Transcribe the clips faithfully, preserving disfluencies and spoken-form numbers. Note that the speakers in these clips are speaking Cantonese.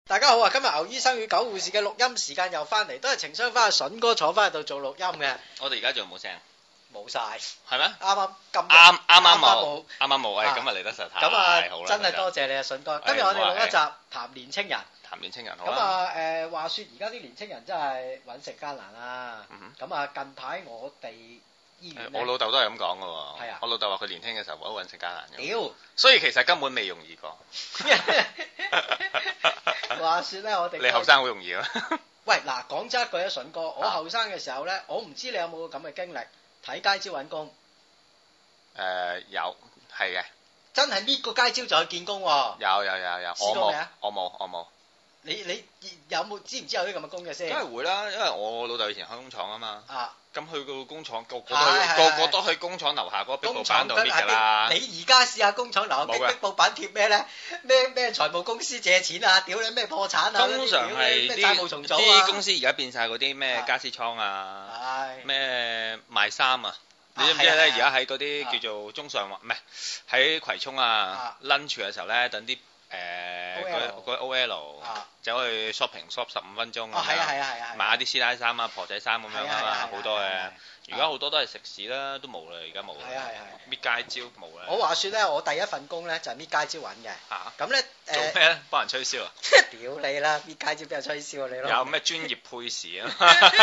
大家好啊！今日牛醫生與狗護士嘅錄音時間又翻嚟，都係情商翻阿筍哥坐翻喺度做錄音嘅。 我哋而家仲有冇聲？ 冇晒， 係咩？ 啱啱咁啱啱啱冇，啱啱冇。誒，今日嚟得實太好啦！ 真係多謝你啊，筍哥。今日我哋錄一集談年青人。 談年青人好咁啊誒，話説而家啲年青人真係揾食艱難啦。咁啊，近排我哋醫院我老豆都係咁講嘅喎。 係啊。 我老豆話佢年輕嘅時候好揾食艱難嘅。 屌！ 所以其實根本未容易過。 話説咧，我哋你後生好容易啊！ 喂，嗱，講真一句啊，筍哥，我後生嘅時候咧，我唔知你有冇咁嘅經歷，睇街招揾工。 誒有，係嘅。 真係搣個街招就去見工喎。 有有有有。 試過未啊？ 我冇，我冇。 你你有冇知唔知有啲咁嘅工嘅先？ 梗係會啦，因為我老豆以前開工廠啊嘛。 啊。 咁去個工廠，個個都個個都去工廠樓下嗰個壁布板度搣㗎啦。 你而家試下工廠樓下壁壁布板貼咩咧？咩咩財務公司借錢啊？屌你咩破產啊？ 通常係啲債務重組啊！ 啲公司而家變晒嗰啲咩家私倉啊，咩賣衫啊。你知唔知咧？而家喺嗰啲叫做中上環，唔係喺葵涌啊 lunch 嘅時候咧，等啲誒嗰嗰 O L 走去 shopping shop 十五分鐘咁樣，買下啲師奶衫啊、婆仔衫咁樣啊嘛，好多嘅。而家好多都係食肆啦，都冇啦，而家冇啦。係啊係係。搣街招冇啦。我話説咧，我第一份工咧就係搣街招揾嘅。嚇。咁咧誒。做咩咧？幫人吹銷啊？ 屌你啦！搣街招俾人吹銷啊你咯。 有咩專業配饰啊？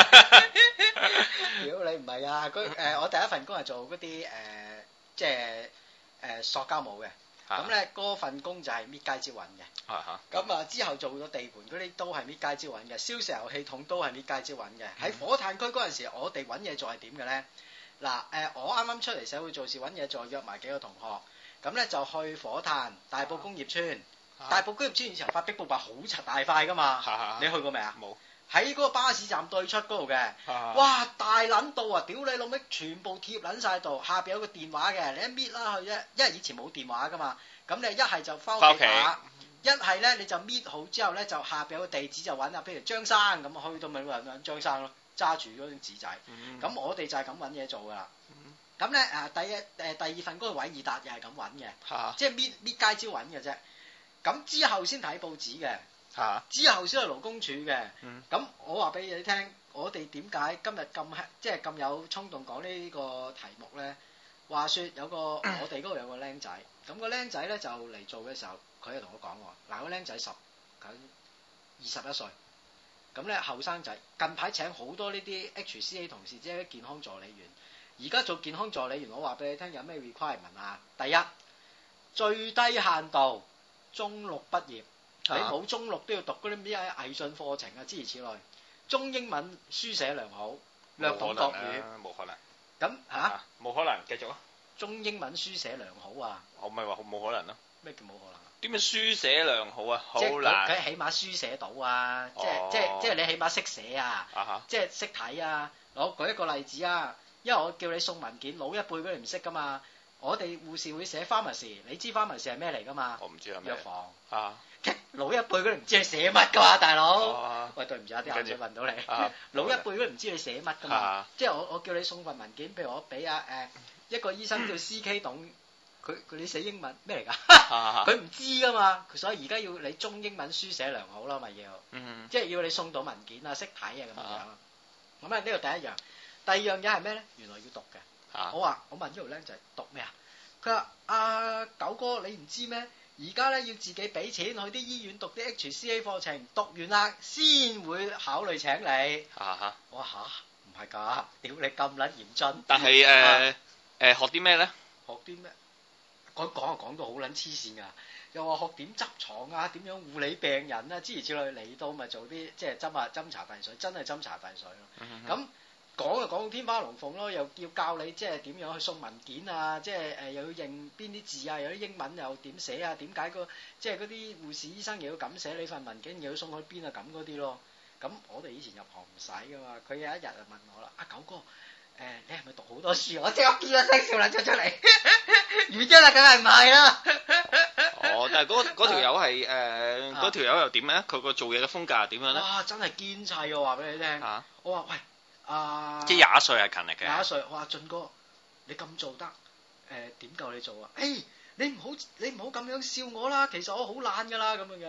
屌你唔係啊！佢誒我第一份工係做嗰啲誒即係誒塑膠帽嘅。咁咧嗰份工就係搣街招揾嘅。咁啊之後做咗地盤嗰啲都係搣街招揾嘅，燒石油氣筒都係搣街招揾嘅。喺火炭區嗰陣時，我哋揾嘢做係點嘅咧？嗱誒，我啱啱出嚟社會做事揾嘢做，約埋幾個同學，咁咧就去火炭大埔工業村。大埔工業村以前發壁布板好柒大塊噶嘛，你去過未啊？冇。喺嗰個巴士站對出嗰度嘅，哇大撚到啊！屌你老味，全部貼撚曬度，下邊有個電話嘅，你一搣啦去啫，因為以前冇電話噶嘛，咁你一係就翻屋企打，一係咧你就搣好之後咧就下邊有個地址就揾啊，譬如張生咁去到咪揾張生咯，揸住嗰張紙仔，咁、嗯、我哋就係咁揾嘢做噶啦，咁咧誒第一誒、呃、第二份嗰個偉爾達又係咁揾嘅，啊、即係搣搣街招揾嘅啫，咁之後先睇報紙嘅。啊、之後先係勞工處嘅，咁、嗯、我話俾你聽，我哋點解今日咁即係咁有衝動講呢個題目咧？話說有個我哋嗰度有個僆仔，咁、個僆仔咧就嚟做嘅時候，佢就同我講喎，嗱、個僆仔十佢二十一歲，咁咧後生仔，近排請好多呢啲 H C A 同事，即係啲健康助理員，而家做健康助理員，我話俾你聽有咩 requirement 啊？第一，最低限度中六畢業。你冇中六都要讀嗰啲咩藝術課程啊，諸如此類。中英文書寫良好，略懂國語。冇可能。咁嚇？冇可能，繼續啊！中英文書寫良好啊！我咪話冇可能咯。咩叫冇可能？點樣書寫良好啊？好難。佢起碼書寫到啊，即係即係即係你起碼識寫啊，即係識睇啊。我舉一個例子啊，因為我叫你送文件，老一輩嗰啲唔識噶嘛。我哋護士會寫 pharmacy，你知 pharmacy 係咩嚟噶嘛？我唔知係咩。藥房。啊。老一輩嗰啲唔知你寫乜噶嘛，大佬。哦、喂，對唔住啊，啲口水問到你。啊、老一輩嗰啲唔知你寫乜噶嘛，啊、即係我我叫你送份文件，譬如我俾啊誒一個醫生叫 C K 董，佢佢你寫英文咩嚟㗎？佢唔、啊、知噶嘛，所以而家要你中英文書寫良好啦，咪要。嗯、即係要你送到文件啊，識睇啊咁樣。咁啊呢個第一樣，第二樣嘢係咩咧？原來要讀嘅。啊、我話我問呢條僆仔讀咩啊？佢話阿九哥你唔知咩？而家咧要自己俾錢去啲醫院讀啲 H C A 課程，讀完啦先會考慮請你。啊哈！我話吓，唔係㗎，屌你咁撚嚴峻。但係誒誒學啲咩咧？學啲咩？講講就講到好撚黐線㗎，又話學點執床啊，點樣護理病人啊，諸如此類，嚟到咪做啲即係斟啊斟茶遞水，真係斟茶遞水咯。咁、嗯講就講到天花龍鳳咯，又要教你即係點樣去送文件啊，即係誒又要認邊啲字啊，有啲英文又點寫啊，點解個即係嗰啲護士醫生又要咁寫你份文件，又要送去邊啊咁嗰啲咯。咁我哋以前入行唔使噶嘛，佢有一日就問我啦，阿、啊、九哥，誒、呃、你係咪讀好多書？我即刻叫一聲笑啦出出嚟，原因啦，梗係唔係啦。哦，但係嗰嗰條友係誒嗰條友又點咧？佢個做嘢嘅風格係點樣咧？哇，真係堅砌我話俾你聽。啊、我話喂。啊！即係廿歲係勤力嘅。廿歲，我話俊哥，你咁做得，誒點夠你做啊？誒、欸，你唔好你唔好咁樣笑我啦，其實我好懶噶啦咁樣樣。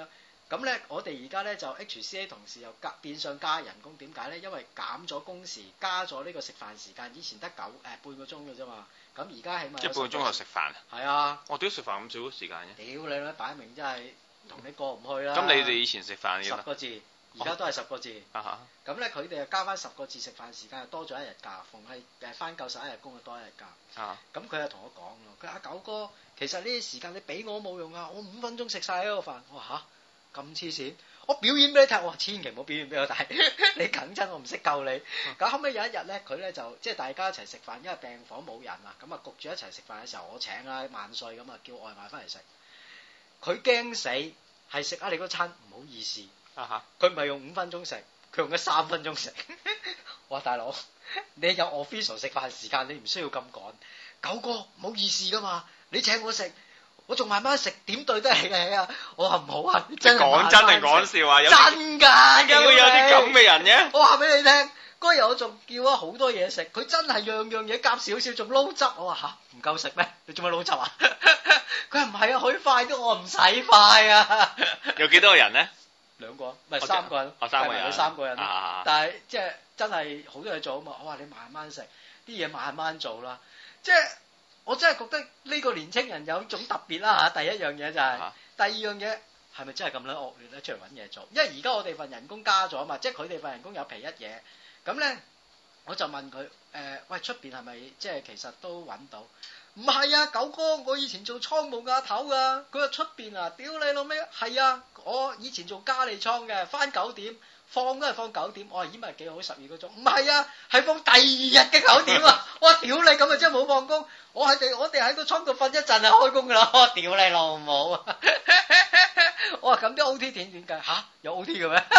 咁咧，我哋而家咧就 H C A 同事又加變相加人工，點解咧？因為減咗工時，加咗呢個食飯時間，以前得九誒、呃、半個鐘嘅啫嘛。咁而家起碼即係半個鐘頭食飯。係啊。 我屌食飯咁少時間嘅。 屌你啦，擺明真係同你過唔去啦。 咁你哋以前食飯十個字，而家都係十個字。 啊哈。 咁咧，佢哋又加翻十個字食飯時間，又多咗一日假。逢係誒翻夠十一日工，就多一日假。啊。咁佢又同我講咯，佢話阿九哥，其實呢啲時間你俾我冇用啊，我五分鐘食晒呢個飯。我話嚇咁黐線。我表演俾你睇，我話千祈唔好表演俾我睇，你梗真我唔識救你。咁後尾有一日咧，佢咧就即係大家一齊食飯，因為病房冇人啊，咁啊焗住一齊食飯嘅時候，我請啦萬歲咁啊，叫外賣翻嚟食。佢驚死，係食啊你嗰餐唔好意思，佢唔係用五分鐘食，佢用咗三分鐘食。我話大佬，你有 official 食飯時間，你唔需要咁趕。九哥唔好意思噶嘛，你請我食。我仲慢慢食，點對得起你啊！我話唔好啊，真係講真定講笑啊？有真㗎， 點解會有啲咁嘅人嘅？ 我話俾你聽，嗰日我仲叫咗好多嘢食，佢真係樣樣嘢夾少少，仲撈汁。我話吓唔夠食咩？你做咩撈汁啊？佢話唔係啊，佢快啲，我唔使快啊。 有幾多個人咧？ 兩個，唔係三個人。 哦，三個人。 佢三個人。啊、但係即係真係好多嘢做啊嘛！我話你慢慢食，啲嘢慢慢做啦，即係。我真係覺得呢個年青人有種特別啦嚇，第一樣嘢就係、是，啊、第二樣嘢係咪真係咁撚惡劣咧？出嚟揾嘢做，因為而家我哋份人工加咗啊嘛，即係佢哋份人工有皮一嘢，咁咧我就問佢誒、呃，喂出邊係咪即係其實都揾到？唔係啊，九哥，我以前做倉務亞頭噶，佢話出邊啊，屌你老味，係啊，我以前做加利倉嘅，返九點。放都係放九點，我話咦咪幾好，十二個鐘，唔係啊，係放第二日嘅九點啊！我話屌你咁啊，真係冇放工，我係哋我哋喺個倉度瞓一陣就開工噶啦！我話屌你老母啊！我話咁啲 O T 點點計吓？有 O T 嘅咩？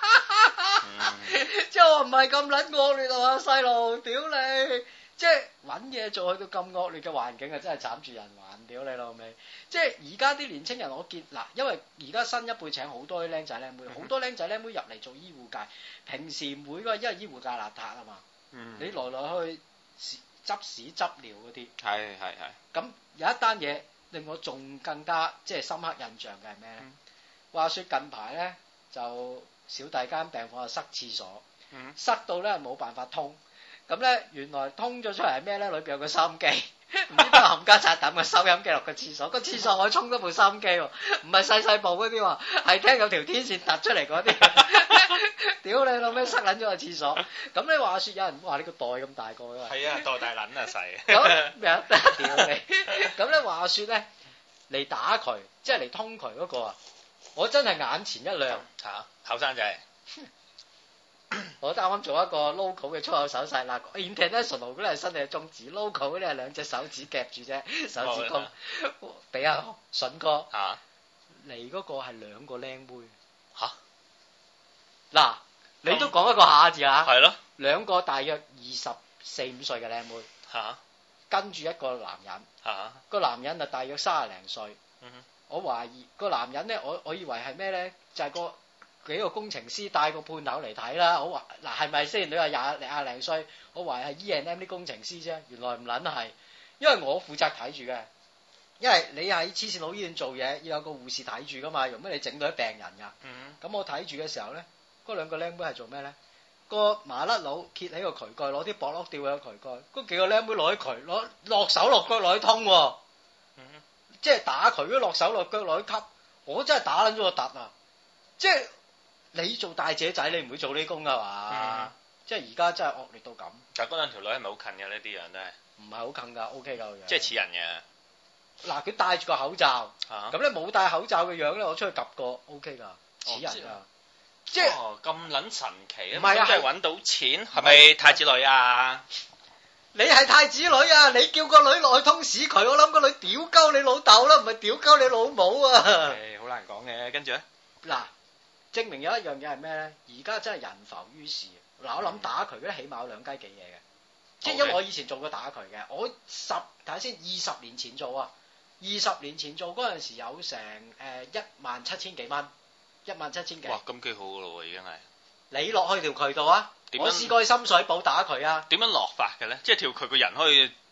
即係我唔係咁撚惡劣啊，細路，屌你！即係揾嘢做去到咁惡劣嘅環境啊，真係慘住人還，屌你老味！即係而家啲年青人，我見嗱，因為而家新一輩請好多啲僆仔僆妹，好、嗯、多僆仔僆妹入嚟做醫護界，平時每個因為醫護界邋遢啊嘛，嗯、你來來去執屎執尿嗰啲， 係係係。咁有一單嘢令我仲更加即係深刻印象嘅係咩咧？嗯、話說近排咧就小弟間病房就塞廁所，嗯、塞到咧冇辦法通。咁咧，原來通咗出嚟係咩咧？裏邊有個收音機，唔知邊個冚家鏟抌個收音機落個廁所，個廁所我沖咗部收音機喎，唔係細細部嗰啲喎，係聽有條天線突出嚟嗰啲。屌你老味，塞撚咗個廁所。咁你話説有人話你個袋咁大個㗎嘛？係啊，袋大撚啊細。咁咩啊？屌你！咁咧話説咧嚟打渠，即係嚟通渠嗰個啊，我真係眼前一亮嚇，後生仔。我啱啱做一個 local 嘅粗口手勢啦 ，international 嗰啲係伸隻中指 ，local 嗰啲係兩隻手指夾住啫，手指公。俾阿筍哥嚟嗰個係兩個靚妹嚇，嗱你都講一個下字啊，係咯，兩個大約二十四五歲嘅靚妹嚇，跟住一個男人嚇，個男人啊大約三十零歲，我懷疑個男人咧，我我以為係咩咧，就係個。幾個工程師帶個判頭嚟睇啦，我話嗱係咪先？你話廿廿零歲，我懷疑係 E and M 啲工程師啫，原來唔撚係，因為我負責睇住嘅，因為你喺黐線佬醫院做嘢，要有個護士睇住噶嘛，用咩你整到啲病人噶？咁、嗯、我睇住嘅時候咧，嗰兩個僆妹係做咩咧？個麻甩佬揭起個渠蓋，攞啲薄碌吊喺個渠蓋，嗰幾個僆妹攞啲渠攞落手落腳攞去通，嗯、即係打渠都落手落腳攞去吸，我真係打撚咗個突啊！即係。你做大姐仔，你唔會做呢工噶嘛？嗯、即係而家真係惡劣到咁。但係嗰兩條女係咪好近嘅呢？啲樣都係唔係好近㗎 ？O K 㗎個樣。即係似人嘅。嗱，佢戴住個口罩，咁咧冇戴口罩嘅樣咧，我出去及過 O K 㗎，似人㗎。哦、即係咁撚神奇啊！唔係啊，係揾到錢，係咪太子女啊？你係太子女啊！你叫個女落去通屎渠，我諗個女屌鳩你老豆啦，唔係屌鳩你老母啊！誒，好難講嘅，跟住咧嗱。證明有一樣嘢係咩咧？而家真係人浮於事。嗱，我諗打渠嗰啲起碼有兩雞幾嘢嘅，即係因為我以前做過打渠嘅，我十睇下先，二十年前做啊，二十年前做嗰陣時有成誒一萬七千幾蚊，一萬七千幾。哇，咁幾好噶咯喎，已經係。你落去條渠道啊？我試過去深水埗打渠啊。點樣落法嘅咧？即係條渠個人可以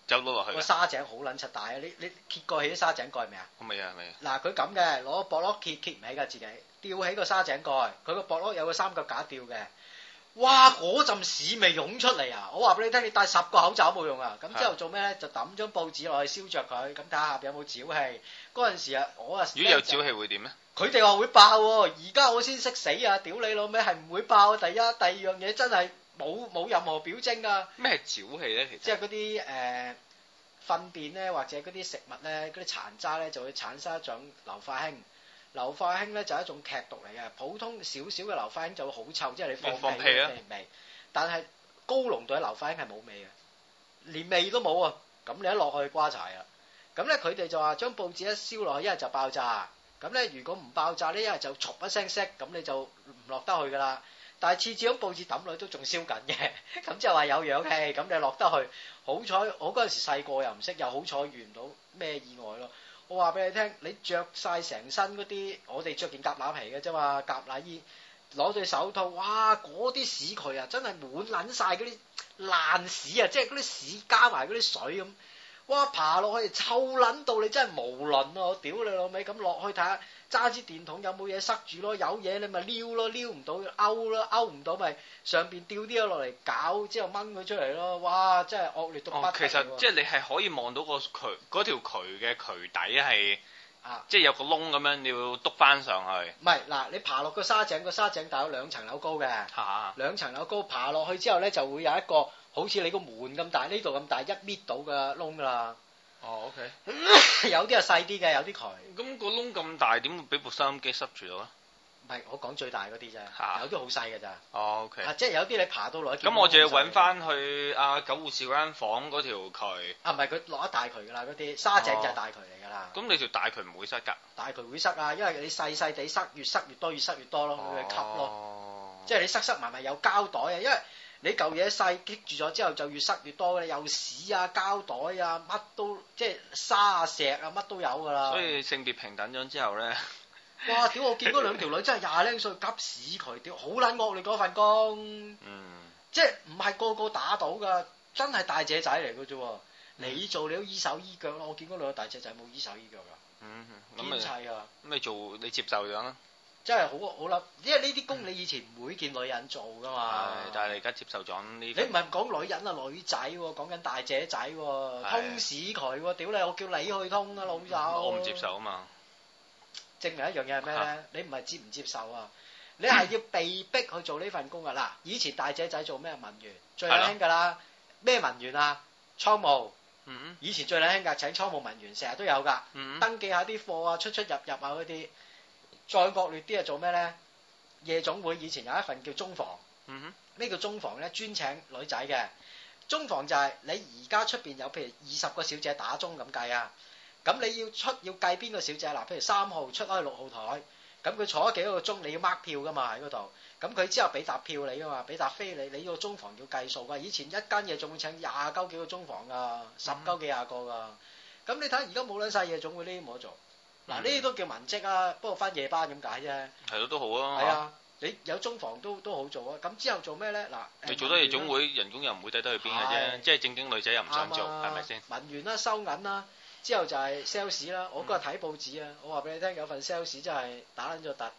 走咗落去。 個沙井好撚柒大啊！你你揭過起啲沙井蓋未啊？ 未啊未啊。 嗱佢咁嘅，攞個膊碌揭揭唔起㗎自己，吊起個沙井蓋，佢個膊碌有個三腳架吊嘅。哇！嗰陣屎味湧出嚟啊！我話俾你聽，你戴十個口罩冇用啊！咁之後做咩咧？就抌張報紙落去燒着佢，咁睇下有冇沼氣。嗰陣時啊，我啊， 如果有沼氣會點咧？ 佢哋話會爆喎，而家我先識死啊！屌你老味，係唔會爆。第一、第二樣嘢真係冇冇任何表徵㗎。咩係沼氣咧？其實即係嗰啲誒糞便咧，或者嗰啲食物咧，嗰啲殘渣咧，就會產生一種硫化氫。硫化氫咧就係一種劇毒嚟嘅，普通少少嘅硫化氫就會好臭，即係你放屁嘅味，味。但係高濃度嘅硫化氫係冇味嘅，連味都冇啊！咁你一落去瓜柴啊！咁咧佢哋就話將報紙一燒落去，一係就爆炸。咁咧如果唔爆炸咧，一係就嘈一聲熄，咁你就唔落得去噶啦。但係次次將報紙抌落去都仲燒緊嘅，咁即係話有氧氣，咁你落得去。好彩我嗰陣時細個又唔識，又好彩遇唔到咩意外咯。我話俾你聽，你着晒成身嗰啲，我哋着件夾乸皮嘅啫嘛，夾乸衣，攞對手套，哇！嗰啲屎渠啊，真係滿撚晒嗰啲爛屎啊，即係嗰啲屎加埋嗰啲水咁，哇！爬落去臭撚到你真係無倫啊！我屌你老味，咁落去睇下，揸支電筒有冇嘢塞住咯，有嘢你咪撩咯，撩唔到勾咯，勾唔到咪上邊吊啲嘢落嚟搞，之後掹佢出嚟咯，哇！真係惡劣到不得了。哦，其實即係你係可以望到個渠嗰條渠嘅渠底係，啊，即係有個窿咁樣，你要篤翻上去。 唔係嗱，你爬落個沙井，個沙井大有兩層樓高嘅， 嚇， 兩層樓高，爬落去之後咧就會有一個好似你個門咁大，呢度咁大一搣到嘅窿㗎啦。 哦 ，OK， 有啲係細啲嘅，有啲渠。 咁個窿咁大，點會俾部收音機塞住到啊？ 唔係，我講最大嗰啲啫，有啲好細嘅咋。 哦，OK。 啊，即係有啲你爬到落去。 咁我就要揾翻去阿九護士嗰間房嗰條渠。 啊，唔係佢落一大渠㗎啦，嗰啲沙井就係大渠嚟㗎啦。 咁你條大渠唔會塞㗎？ 大渠會塞啊，因為你細細地塞，越塞越多，越塞越多咯，佢會吸咯。即係你塞塞埋埋有膠袋啊，因為。你嚿嘢細棘住咗之後就越塞越多嘅，有屎啊、膠袋啊，乜都即係沙啊、石啊，乜都有㗎啦。 所以性別平等咗之後咧， 哇！屌我見嗰兩條女真係廿零歲急屎佢，屌好撚惡劣嗰份工。嗯。即係唔係個個打到㗎，真係大姐仔嚟㗎啫喎。嗯、你做你都依手依腳咯，我見嗰兩個大姐仔冇依手依腳㗎。嗯。堅砌㗎。咁你做你接受咗啦。 真係好好啦，因為呢啲工你以前唔會見女人做噶嘛。 係，但係你而家接受咗呢？你唔係講女人啊，女仔喎，講緊大姐仔喎，通屎渠喎，屌你！我叫你去通啊，老友。 我唔接受啊嘛。 證明一樣嘢係咩咧？你唔係接唔接受啊？你係要被逼去做呢份工啊！嗱，以前大姐仔做咩文員？最靚興㗎啦，咩文員啊？倉務。嗯。以前最靚興㗎，請倉務文員，成日都有㗎。嗯。登記下啲貨啊，出出入入啊嗰啲。再惡劣啲係做咩咧？夜總會以前有一份叫中房，嗯哼，咩叫中房咧？專請女仔嘅。中房就係你而家出邊有譬如二十個小姐打鐘咁計啊，咁你要出要計邊個小姐嗱？譬如三號出開六號台，咁佢坐咗幾多個鐘，你要 mark 票噶嘛喺嗰度，咁佢之後俾沓票你噶嘛，俾沓飛你，你個中房要計數噶。以前一間夜總會請廿鳩幾個中房噶，十鳩幾廿個噶，咁你睇而家冇撚晒夜總會呢啲冇得做。嗱，呢啲都叫文職啊，不過翻夜班咁解啫。係咯，都好啊。 係啊，你有中房都都好做啊。咁之後做咩咧？嗱， 你做得夜總會，人工又唔會低得去邊嘅啫。即係正經女仔又唔想做，係咪先？ 文員啦，收銀啦，之後就係 sales 啦。我嗰日睇報紙啊，我話俾你聽，有份 sales 真係打撚咗突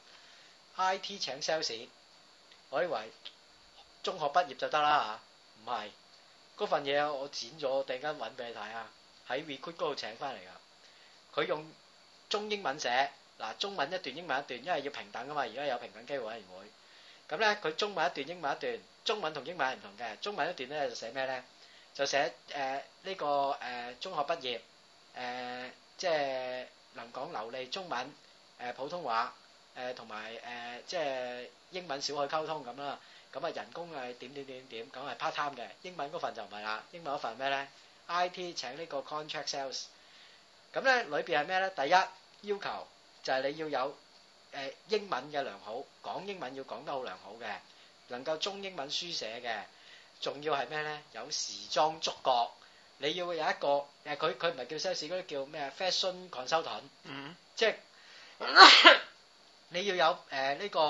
I T 請 sales，我以為中學畢業就得啦嚇，唔係嗰份嘢我剪咗，突然間揾俾你睇啊，喺 recruit 嗰度請翻嚟㗎，佢用中英文寫嗱，中文一段英文一段，因為要平等啊嘛，而家有平等機會委員會，咁咧佢中文一段英文一段，中文同英文係唔同嘅，中文一段咧就寫咩咧？就寫誒呢個誒中學畢業誒，即係能講流利中文誒普通話誒同埋誒即係英文小可溝通咁啦，咁啊人工係點點點點，咁係 part time 嘅，英文嗰份就唔係啦，英文嗰份咩咧 ？I T 請呢個 contract sales，咁咧裏邊係咩咧？第一要求就係你要有誒、呃、英文嘅良好，講英文要講得好良好嘅，能夠中英文書寫嘅，仲要係咩咧？有時裝觸覺，你要有一個誒佢佢唔係叫 sales 嗰啲叫咩 fashion consultant，嗯，即係你要有誒呢、呃這個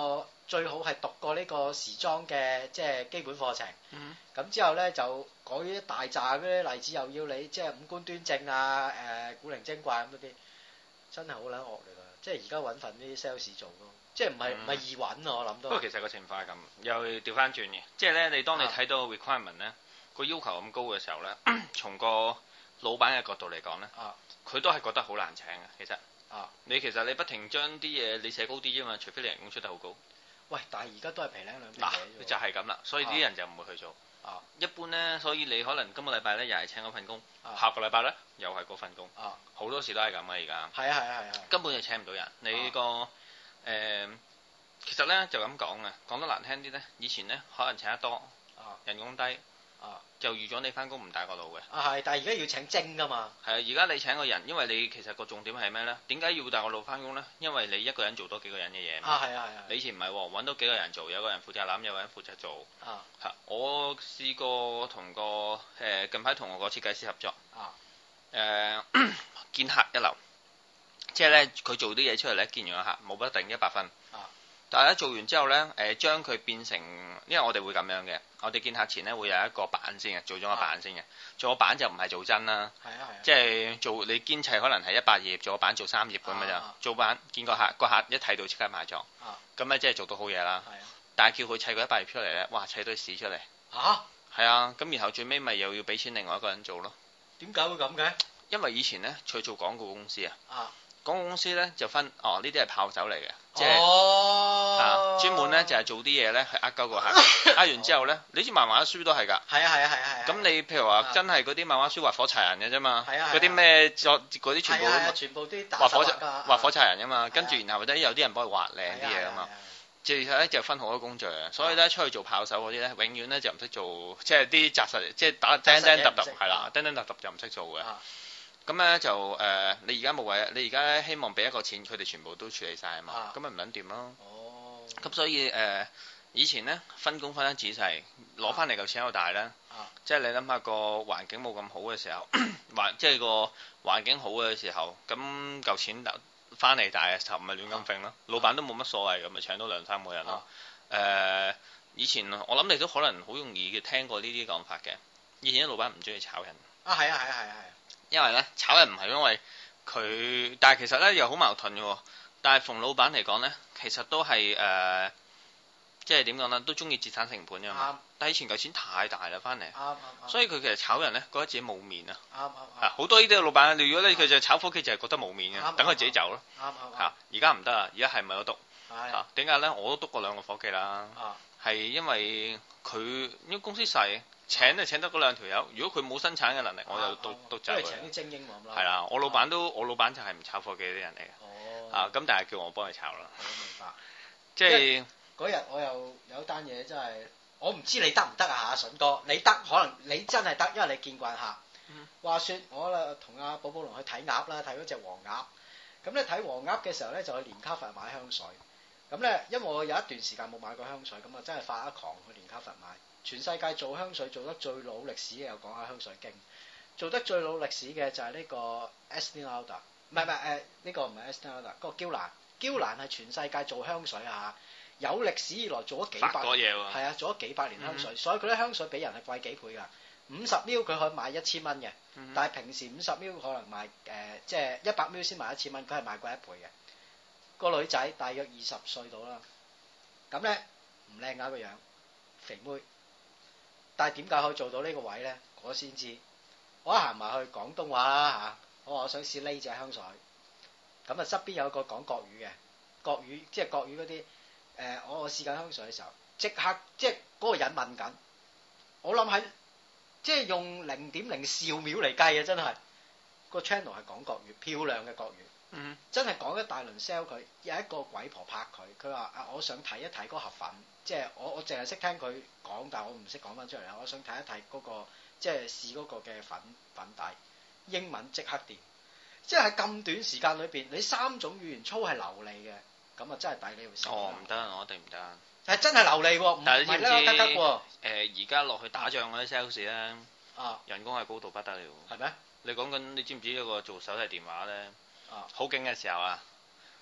最好係讀過呢個時裝嘅即係基本課程。咁、 嗯、 之後咧就講一大扎嗰啲例子，又要你即係五官端正啊，誒、呃、古靈精怪咁嗰啲，真係好撚惡嚟㗎。即係而家揾份啲 sales 做咯，即係唔係唔係易揾啊？我諗到。不過其實個情況係咁，又調翻轉嘅，即係咧你當你睇到 requirement 咧個要求咁高嘅時候咧，從個老闆嘅角度嚟講咧，佢、啊、都係覺得好難請嘅。其實，啊、你其實你不停將啲嘢你寫高啲啫嘛，除非你人工出得好高。喂， 但係而家都係皮零兩皮嘢就係咁啦，所以啲人就唔會去做。啊，一般咧，所以你可能今個禮拜咧又係請嗰份工，啊、下個禮拜咧又係嗰份工。啊，好多時都係咁啊，而家。係啊係啊係啊。根本就請唔到人。你個誒、呃，其實咧就咁講啊，講得難聽啲咧，以前咧可能請得多，啊、人工低。啊！就預咗你翻工唔大個腦嘅。 啊係，但係而家要請精噶嘛。係啊， 而家你請個人，因為你其實個重點係咩咧？點解要大個腦翻工咧？因為你一個人做多幾個人嘅嘢。 啊係啊係啊。 你以前唔係喎，揾到幾個人做，有個人負責攬，有個人負責做。啊。係，我試過同個誒、呃、近排同我個設計師合作。啊。誒、呃，見客一流，即係咧佢做啲嘢出嚟咧，見完個客冇不一定一百分。啊。但係咧做完之後咧，誒、呃、將佢變成，因為我哋會咁樣嘅，我哋見客前咧會有一個版先嘅，做咗個版先嘅，做個版就唔係做真啦，係啊係啊，即係做你堅砌可能係一百頁，做個版做三頁咁嘅咋，做版見個客，個客一睇到即刻買咗，咁咧即係做到好嘢啦，係啊，但係叫佢砌個一百頁出嚟咧，哇砌堆屎出嚟，嚇，係啊，咁然後最尾咪又要俾錢另外一個人做咯， 點解會咁嘅？ 因為以前咧佢做廣告公司啊。啊廣告公司咧就分，哦呢啲係炮手嚟嘅，即係、哦、啊專門咧就係、是、做啲嘢咧係呃鳩個客，呃完之後咧，你知漫畫書都係㗎， 係啊係啊係啊係。咁你譬如話真係嗰啲漫畫書畫火柴人嘅啫嘛，嗰啲咩作嗰啲全部都全部啲畫火畫火柴人㗎嘛，跟住然後咧有啲人幫佢畫靚啲嘢㗎嘛，其實咧就分好多工序啊，所以咧出去做炮手嗰啲咧，永遠咧就唔識做，即係啲紮實，即係打釘釘揼揼係啦，釘釘揼揼就唔識做嘅。咁咧就誒、呃，你而家冇位，你而家咧希望俾一個錢，佢哋全部都處理晒啊嘛，咁咪唔撚掂咯。哦。咁所以誒、呃，以前咧分工分得仔細，攞翻嚟嚿錢又大啦。啊、即係你諗下個環境冇咁好嘅時候，環即係個環境好嘅時候，咁嚿錢翻嚟大嘅時候，唔係亂咁揈咯。啊、老闆都冇乜所謂，咁咪請到兩三個人咯。誒、啊呃，以前我諗你都可能好容易聽過呢啲講法嘅。以前啲老闆唔中意炒人。啊，係啊，係啊，係啊，係。因為咧炒人唔係因為佢，但係其實咧又好矛盾嘅。但係逢老闆嚟講咧，其實都係誒、呃，即係點講咧，都中意節省成本嘅嘛。嗯、但係以前嚿錢太大啦，翻嚟，嗯嗯、所以佢其實炒人咧覺得自己冇面啊。啊好、嗯嗯、多呢啲老闆，如果咧佢就炒伙計就係覺得冇面嘅，嗯、等佢自己走咯。嚇、嗯，而家唔得啊！而家係咪有督？嚇，點解咧？我都督過兩個伙計啦。係、嗯、因為佢因為公司細。請就請得嗰兩條友，如果佢冇生產嘅能力，我就都都走。因為請啲精英喎咁啦。係啦，我老闆都我老闆就係唔炒貨嘅啲人嚟嘅。哦。啊，咁但係叫我幫佢炒啦。我明白。即係嗰日我又有單嘢真係，我唔知你得唔得啊，阿筍哥，你得可能你真係得，因為你見慣客。嗯。話説我啦同阿寶寶龍去睇鴨啦，睇嗰隻黃鴨。咁咧睇黃鴨嘅時候咧，就去連卡佛買香水。咁咧，因為我有一段時間冇買過香水，咁啊真係發一狂去連卡佛買。全世界做香水做得最老歷史嘅，又講下香水經。做得最老歷史嘅就係呢個 Estée Lauder，唔係唔係誒呢個唔係 Estée Lauder，嗰個嬌蘭。嬌蘭係全世界做香水啊，有歷史以來做咗幾百年，係啊，做咗幾百年香水，嗯、所以佢啲香水比人係貴幾倍㗎。五十 ml 佢可以賣一千蚊嘅，嗯、但係平時五十 ml 可能賣誒、呃、即係一百 ml 先賣一千蚊，佢係賣貴一倍嘅。個女仔大約二十歲到啦，咁咧唔靚㗎個樣，肥妹。但係點解可以做到呢個位咧？我先知。我一行埋去廣東話啦嚇，我話我想試呢隻香水。咁啊側邊有個講國語嘅，國語即係國語嗰啲誒，我我試緊香水嘅時候，即刻即係嗰個人問緊。我諗喺即係用零點零兆秒嚟計啊！真係個 channel 係講國語，漂亮嘅國語。嗯，真係講一大輪 sell 佢，有一個鬼婆拍佢，佢話啊，我想睇一睇嗰盒粉，即係我我淨係識聽佢講，但係我唔識講翻出嚟啦。我想睇一睇嗰個即係試嗰個嘅粉粉底，英文即刻掂，即係喺咁短時間裏邊，你三種語言操係流利嘅，咁啊真係抵你去試。哦，唔得，我一定唔得。係真係流利喎，唔係咧得得喎。誒，而家落去打仗嗰啲 sales 咧，啊，人工係高到不得了。係咩？你講緊你知唔知一個做手提電話咧？好勁嘅時候啊！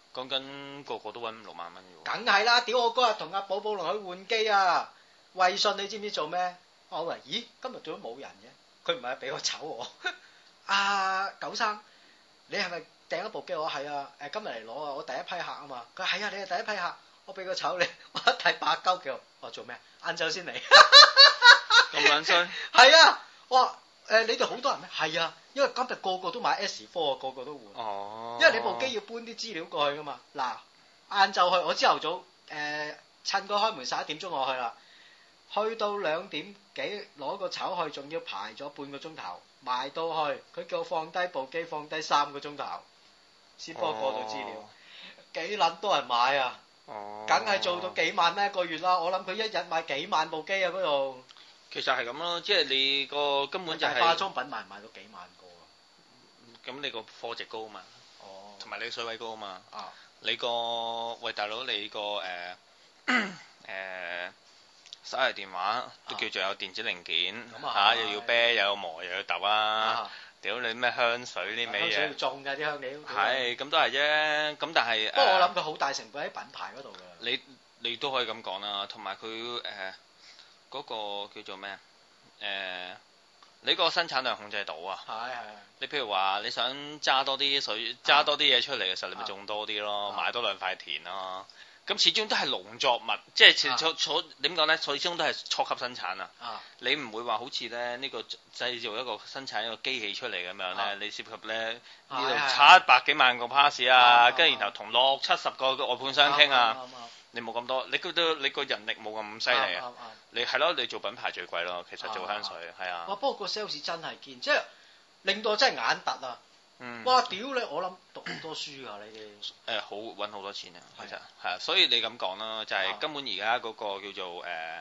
講緊個個都揾五六萬蚊嘅喎。 梗係啦，屌我嗰日同阿寶寶龍去換機啊！衛信你知唔知做咩？我話咦，今日做咗冇人嘅，佢唔係俾個籌我。阿九生，你係咪訂一部機？我係啊，誒今日嚟攞啊，我第一批客啊嘛。佢話係啊，你係第一批客，我俾個籌你，我一睇八鳩叫我做咩？晏晝先嚟。 咁撚衰？ 係啊，我話誒你哋好多人咩？係啊，因為今日個個都買 S 四啊，個個都換。哦。因為你部機要搬啲資料過去噶嘛。嗱，晏晝去，我朝頭早誒、呃、趁個開門十一點鐘我去啦。去到兩點幾攞個籌去，仲要排咗半個鐘頭，埋到去佢叫我放低部機，放低三個鐘頭先幫我過到資料，哦、幾撚多人買啊！哦，梗係做到幾萬蚊一個月啦！我諗佢一日賣幾萬部機啊嗰度。其實係咁咯，即係你個根本就係、是、化妝品賣唔賣到幾萬個啊？ 咁你個貨值高啊嘛，哦，同埋你水位高啊嘛， 啊， 你個喂大佬你個誒誒。呃手提電話都叫做有電子零件嚇、啊啊，又要啤又要磨又要揼啊！屌你咩香水呢味嘢？香水要種㗎啲香料。係咁都係啫，咁但係。不過我諗佢好大成本喺品牌嗰度㗎。你你都可以咁講啦，同埋佢誒嗰個叫做咩啊？誒、呃，你個生產量控制到啊？係係。你譬如話你想揸多啲水，揸多啲嘢出嚟嘅時候，你咪種多啲咯，買多兩塊田咯。咁始終都係農作物，即係始終初點講咧？始終都係初級生產啊！啊你唔會話好似咧呢個製造一個生產一個機器出嚟咁樣咧，啊、你涉及咧呢度七百幾萬個 pass 啊，跟住然後同六七十個外判商傾啊，你冇咁多，你覺得你個人力冇咁犀利啊？你係咯，你做品牌最貴咯，其實做香水係啊。哇！不過個 sales 真係堅，即係令到我真係眼突啊！嗯，哇！屌你，我諗讀好多書㗎，你哋誒好揾好多錢啊，其實係啊，所以你咁講啦，就係、是、根本而家嗰個叫做誒誒、呃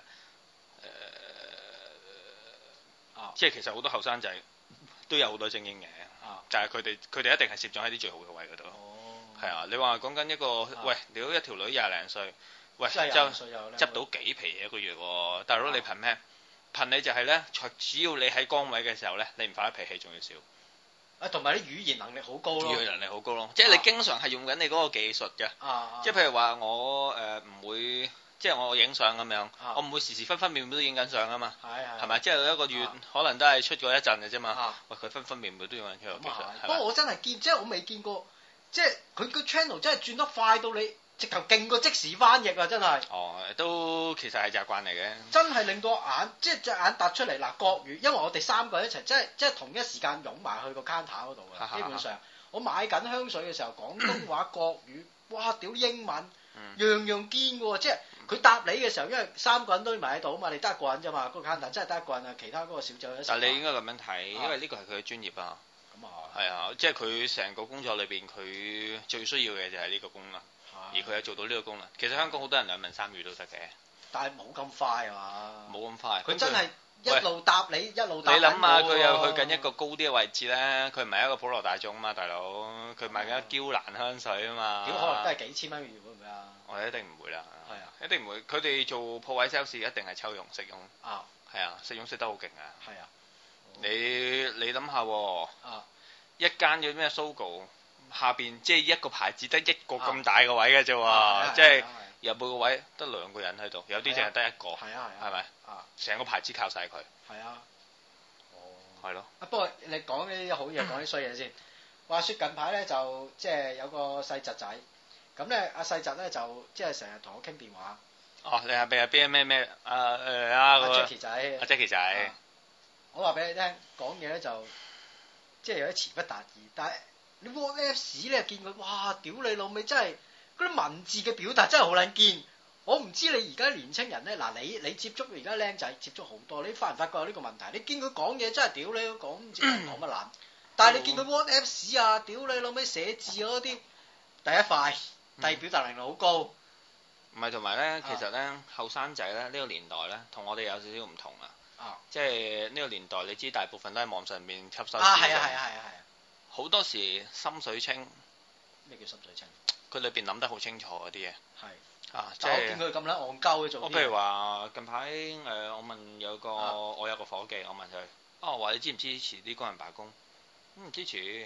呃、即係其實好多後生仔都有好多精英嘅，啊、就係佢哋佢哋一定係攝咗喺啲最好嘅位嗰度，係、哦、啊，你話講緊一個、啊、喂，屌一條女廿零歲，喂就執到幾皮嘢一個月喎，大佬你憑咩？憑你就係咧，只要你喺崗位嘅時候咧，你唔發脾氣仲要少。啊，同埋啲語言能力好高咯，語言能力好高咯，即係你經常係用緊你嗰個技術嘅，啊、即係譬如話我誒唔、呃、會，即係我影相咁樣，啊、我唔會時時分分秒秒都影緊相啊嘛，係係咪？即係一個月、啊、可能都係出過一陣嘅啫嘛，啊、喂佢分分秒秒都用緊佢個技術，不過我真係見，即係我未見過，即係佢個 channel 真係轉得快到你。直頭勁過即時翻譯啊！真係哦，都其實係習慣嚟嘅。真係令到眼即係隻眼突出嚟嗱，國語，因為我哋三個人一齊，即係即係同一時間湧埋去個 counter 嗰度嘅。基本上，我買緊香水嘅時候，廣東話、國語，哇！屌英文，嗯、樣樣堅嘅喎，即係佢答你嘅時候，因為三個人都買到嘛，你得一個人啫嘛，個 counter 真係得一個人啊，其他嗰個小姐一。但係你應該咁樣睇，因為呢個係佢嘅專業啊。咁啊係啊，即係佢成個工作裏邊，佢最需要嘅就係呢個功能。而佢有做到呢個功能，其實香港好多人兩文三語都得嘅，但係冇咁快啊嘛，冇咁快，佢真係一路答你，一路答你。你諗下，佢又去緊一個高啲嘅位置咧，佢唔係一個普羅大眾啊嘛，大佬，佢賣緊嬌蘭香水啊嘛，點可能都係幾千蚊月會唔會啊？我哋一定唔會啦，係啊，一定唔會。佢哋做鋪位 sales 一定係抽佣食佣，啊，係啊，食佣食得好勁啊，係啊，你你諗下喎，啊，一間叫咩 Sogo。下邊即係一個牌子得一個咁大個位嘅啫喎，即係入每個位得兩個人喺度，有啲淨係得一個，係啊係咪？啊，成個牌子靠晒佢。係啊。哦。係咯。啊不過你講呢啲好嘢，講啲衰嘢先。話説近排咧就即係有個細侄仔，咁咧阿細侄咧就即係成日同我傾電話。哦，你係咪啊邊咩咩啊誒啊阿 Jackie 仔。阿 Jackie 仔。我話俾你聽，講嘢咧就即係有啲詞不達意，但係。你 WhatsApp 咧見佢，哇！屌你老味，真係嗰啲文字嘅表達真係好撚堅。我唔知你而家年青人咧，嗱你你接觸而家僆仔接觸好多，你發唔發覺有呢個問題？你見佢講嘢真係屌你講唔知講乜撚，但係你見佢 WhatsApp 啊，屌你老味寫字嗰啲，第一快，第二表達能力好高。唔係同埋咧，其實咧後生仔咧呢個年代咧，同我哋有少少唔同啊。啊！即係呢個年代，你知大部分都喺網上面吸收。啊係啊係啊係啊係啊！好多時心水清，咩叫心水清？佢裏邊諗得好清楚嗰啲嘢。係啊，即係我見佢咁撚戇鳩去做。我譬如話近排誒、呃，我問有個、啊、我有個夥計，我問佢，哦話你支唔支持啲工人罷工？唔、嗯、支持。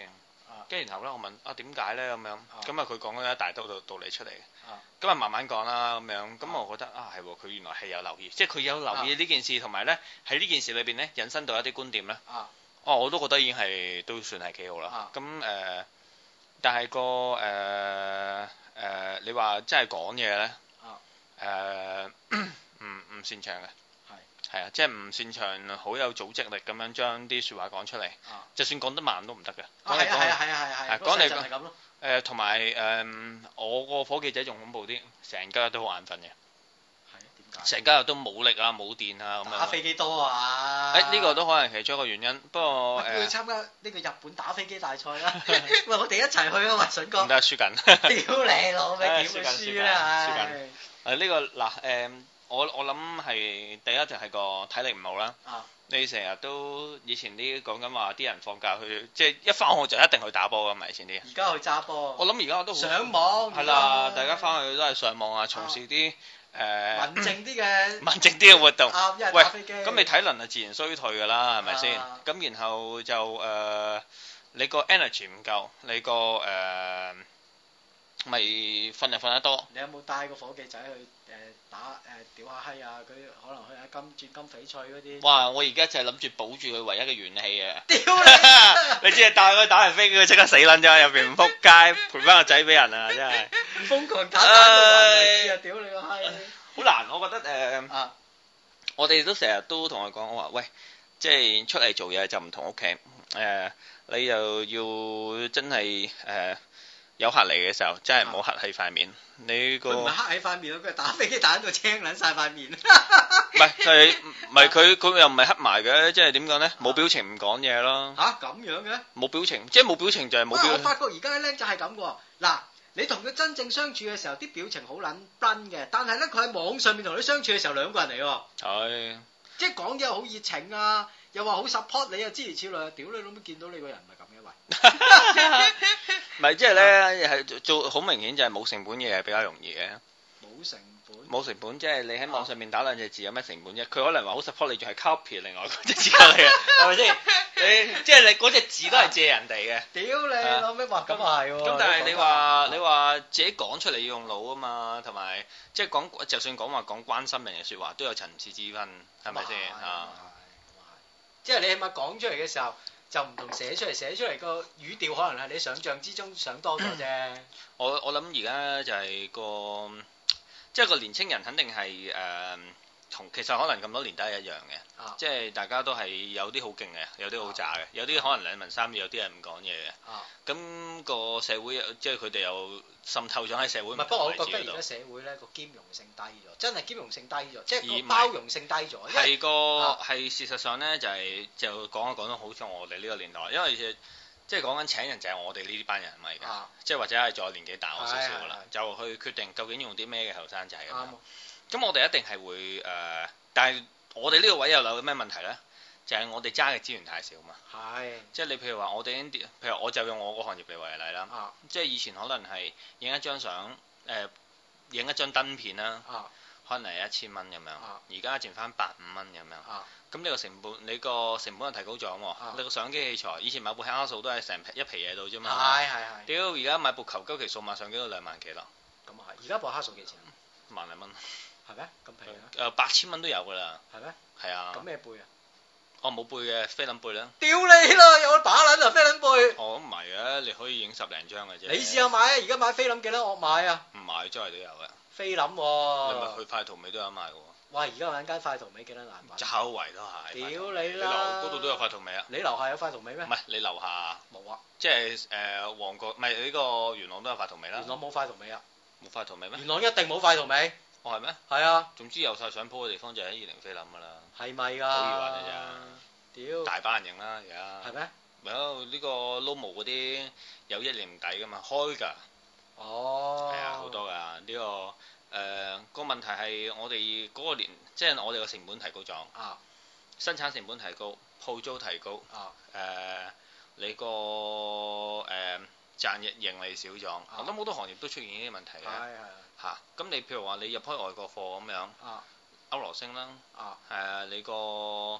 跟住然後咧我問啊點解咧咁樣，咁啊佢講咗一大堆道道理出嚟，咁啊慢慢講啦咁樣，咁我覺得啊係喎，佢原來係有留意，即係佢有留意呢件事，同埋咧喺呢件事裏邊咧引申到一啲觀點咧，哦我都覺得已經係都算係幾好啦，咁誒，但係個誒誒你話真係講嘢咧，誒唔唔擅長嘅。係啊，即係唔擅長好有組織力咁樣將啲説話講出嚟，啊、就算講得慢都唔得嘅。 係啊係啊係啊係係。 講嚟講誒，同埋誒，我個伙計仔仲恐怖啲，成家都好眼瞓嘅。係啊，點解？成家都冇力啊，冇電啊咁樣。 打飛機多啊！ 誒呢個都可能其中一個原因，不過誒。 去參加呢個日本打飛機大賽啦！喂，我哋一齊去啊嘛，筍哥。 唔得，輸緊。 屌你老味，點會輸咧？ 輸緊。誒呢個嗱誒。我我諗係第一就係個體力唔好啦。啊、你成日都以前啲講緊話啲人放假去，即係一返學就一定去打波㗎嘛，以前啲。而家去揸波。我諗而家我都好上網。係啦，大家返去都係上網啊，從事啲誒、啊呃、 文靜啲嘅文靜啲嘅活動。 啊、因為打飛機。 喂，咁你體能啊自然衰退㗎啦，係咪先？咁、啊、然後就誒、呃、你個 energy 唔夠，你個誒。呃咪瞓就瞓得多。 你有冇帶個伙計仔去誒、呃、打誒、呃、屌下閪啊？佢可能去下金鑽金翡翠嗰啲。 哇！我而家就係諗住保住佢唯一嘅元氣啊！ 屌你！ 你只係帶佢打人飛機，佢即刻死撚咗入邊唔撲街，賠翻個仔俾人啊！真係。 瘋狂打打到暈為止啊！屌你個閪！ 好難，我覺得誒。呃啊、我哋都成日都同佢講，我話喂，即係出嚟做嘢就唔同屋企誒，你又要真係誒。呃有客嚟嘅時候，真係唔好黑喺塊面。你個佢唔係黑喺塊面咯，佢係打飛機打到青撚晒塊面。 唔係佢，唔係佢，佢又唔係黑埋嘅，即係點講咧？冇表情唔講嘢咯。 嚇咁樣嘅？冇表情，即係冇表情就係冇表情。 我發覺而家啲僆仔係咁喎。嗱，你同佢真正相處嘅時候，啲表情好撚崩嘅，但係咧佢喺網上面同你相處嘅時候，兩個人嚟喎。係。即係講嘢好熱情啊，又話好 support 你啊，諸如此類。屌你老母，見到你個人唔係咁嘅喂。 唔係，即係咧，係做好明顯就係冇成本嘢係比較容易嘅。 冇成本。冇成本，即係你喺網上面打兩隻字有咩成本啫？佢可能話好 support 你，仲係 copy 另外嗰隻字過嚟嘅，係咪先？你即係你嗰隻字都係借人哋嘅。屌你老味話咁啊係喎。咁但係你話你話自己講出嚟要用腦啊嘛，同埋即係講就算講話講關心人嘅説話都有層次之分，係咪先啊？ 即係你起碼講出嚟嘅時候。就唔同寫出嚟，寫出嚟個語調可能係你想象之中想多咗啫。我我諗而家就係個，即係個年青人肯定係誒，同、呃、其實可能咁多年都係一樣嘅，啊、即係大家都係有啲好勁嘅，有啲好渣嘅，有啲可能兩文三語，有啲係唔講嘢嘅。咁、啊、個社會即係佢哋又滲透咗喺社會。唔係，不過我覺得而家社會咧個兼容性低咗，真係兼容性低咗，即係個包容性低咗。係個係、啊、事實上咧，就係、是、就講一講得好似我哋呢個年代，因為即係講緊請人就係我哋呢啲班人咪㗎，啊、即係或者係再年紀大我少少㗎啦，就去決定究竟用啲咩嘅後生仔咁樣。咁我哋一定係會誒、呃，但係我哋呢個位又有咩問題咧？就係我哋揸嘅資源太少嘛，係，即係你譬如話我哋啲，譬如我就用我個行業嚟為例啦，啊、即係以前可能係影一張相，誒、呃，影一張燈片啦，啊、可能係一千蚊咁樣，而家剩翻百五蚊咁樣，咁呢、啊、個成本，你個成本係提高咗喎，啊、你個相機器材，以前買部黑卡數都係成一皮嘢到啫嘛，係係係，屌而家買部求鳩其數碼相機都兩萬幾啦，咁啊係，而家部黑卡數幾錢？萬零蚊，係咩？咁平啊？誒八千蚊都有㗎啦，係咩？係啊，咁咩背啊？哦，冇背嘅菲林背啦！屌你啦，有把撚啊菲林背！哦，唔係嘅，你可以影十零張嘅啫。你試下買啊！而家買菲林幾多我買啊？唔買，周圍都有嘅。菲林喎。你咪去快圖美都有賣嘅喎。哇！而家有間快圖美幾多難買？周圍都係。屌你啦！嗰度都有快圖美啊？你樓下有快圖美咩？唔係，你樓下。冇啊。即係誒旺角，唔係呢個元朗都有快圖美啦。元朗冇快圖美啊？冇快圖美咩？元朗一定冇快圖美。哦，係咩？係啊。總之有晒相鋪嘅地方就喺二零菲林噶啦。係咪㗎？好易揾嘅咋？屌！大班人影啦，而家。係咩？咪有呢個 Lomo 嗰啲有一年底㗎嘛，開㗎。哦。係啊，好多㗎呢、呢個誒、呃嗰個問題係我哋嗰個年，即係我哋個成本提高咗。啊。生產成本提高，鋪租提高。啊。誒、呃，你個誒、呃、賺盈盈利少咗，啊、我諗好多行業都出現呢啲問題嘅。係係。嚇！咁你譬如話你入開外國貨咁樣，歐羅升啦，誒你個